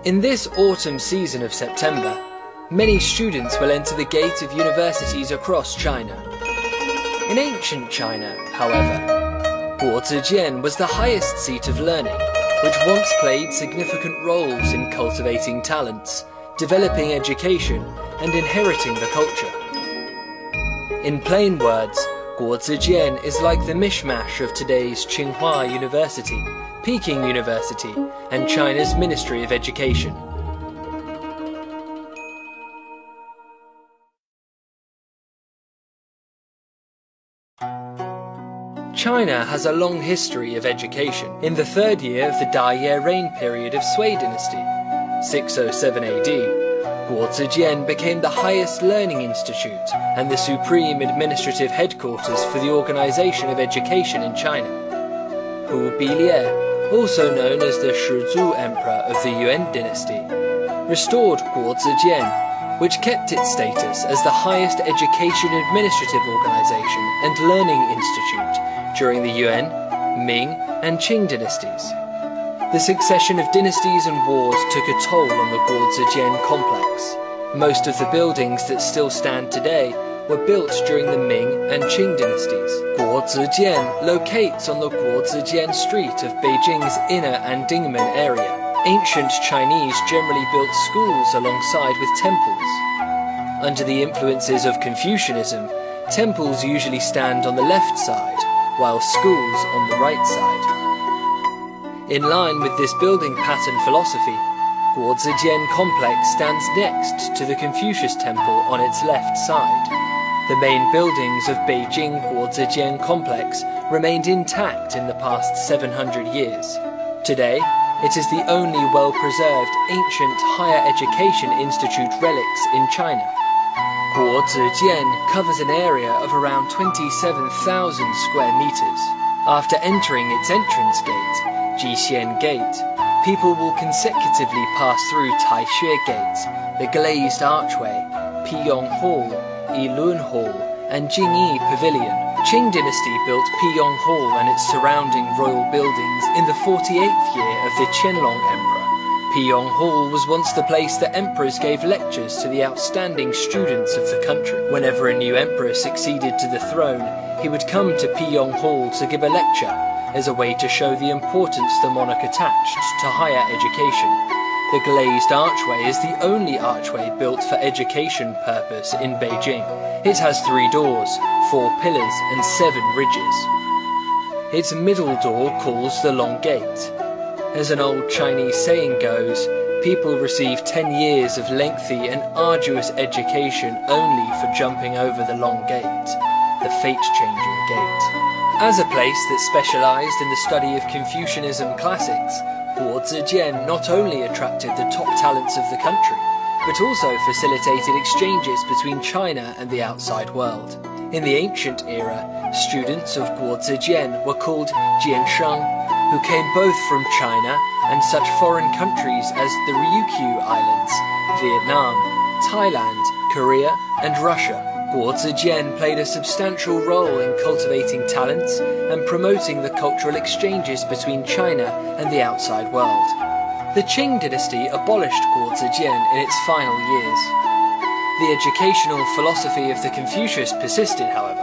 In this autumn season of September, many students will enter the gate of universities across China. In ancient China, however, Guozijian was the highest seat of learning, which once played significant roles in cultivating talents, developing education, and inheriting the culture. In plain words, Guozijian is like the mishmash of today's Tsinghua University, Peking University, and China's Ministry of Education. China has a long history of education. In the third year of the Dai reign period of Sui dynasty, 607 AD, Guozijian became the highest learning institute and the supreme administrative headquarters for the organization of education in China. Hu Bilie, also known as the Shizhou Emperor of the Yuan dynasty, restored Guozijian, which kept its status as the highest education administrative organization and learning institute during the Yuan, Ming, and Qing dynasties. The succession of dynasties and wars took a toll on the Guozijian complex. Most of the buildings that still stand today were built during the Ming and Qing dynasties. Guozijian locates on the Guozijian Street of Beijing's inner Andingmen area. Ancient Chinese generally built schools alongside with temples. Under the influences of Confucianism, temples usually stand on the left side, while schools on the right side. In line with this building pattern philosophy, Guozijian complex stands next to the Confucius Temple on its left side. The main buildings of Beijing Guozijian complex remained intact in the past 700 years. Today, it is the only well-preserved ancient higher education institute relics in China. Guozijian covers an area of around 27,000 square meters. After entering its entrance gate, Jixian Gate, people will consecutively pass through Taixue Gate, the glazed archway, Piyong Hall, Yilun Hall, and Jingyi Pavilion. Qing dynasty built Piyong Hall and its surrounding royal buildings in the 48th year of the Qianlong Emperor. Piyong Hall was once the place that emperors gave lectures to the outstanding students of the country. Whenever a new emperor succeeded to the throne, he would come to Piyong Hall to give a lecture, as a way to show the importance the monarch attached to higher education. The glazed archway is the only archway built for education purpose in Beijing. It has 3 doors, 4 pillars, and 7 ridges. Its middle door calls the Long Gate. As an old Chinese saying goes, people receive 10 years of lengthy and arduous education only for jumping over the Long Gate, the fate-changing gate. As a place that specialized in the study of Confucianism classics, Guozijian not only attracted the top talents of the country, but also facilitated exchanges between China and the outside world. In the ancient era, students of Guozijian were called Jiansheng, who came both from China and such foreign countries as the Ryukyu Islands, Vietnam, Thailand, Korea, and Russia. Guozijian played a substantial role in cultivating talents and promoting the cultural exchanges between China and the outside world. The Qing dynasty abolished Guozijian in its final years. The educational philosophy of the Confucius persisted, however.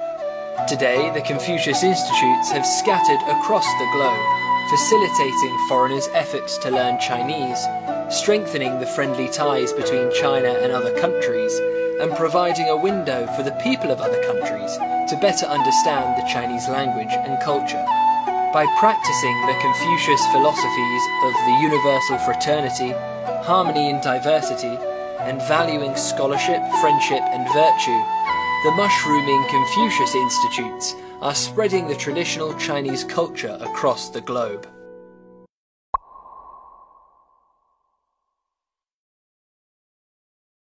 Today, the Confucius Institutes have scattered across the globe, facilitating foreigners' efforts to learn Chinese, strengthening the friendly ties between China and other countries, and providing a window for the people of other countries to better understand the Chinese language and culture. By practicing the Confucius philosophies of the universal fraternity, harmony in diversity, and valuing scholarship, friendship, and virtue, the mushrooming Confucius Institutes are spreading the traditional Chinese culture across the globe.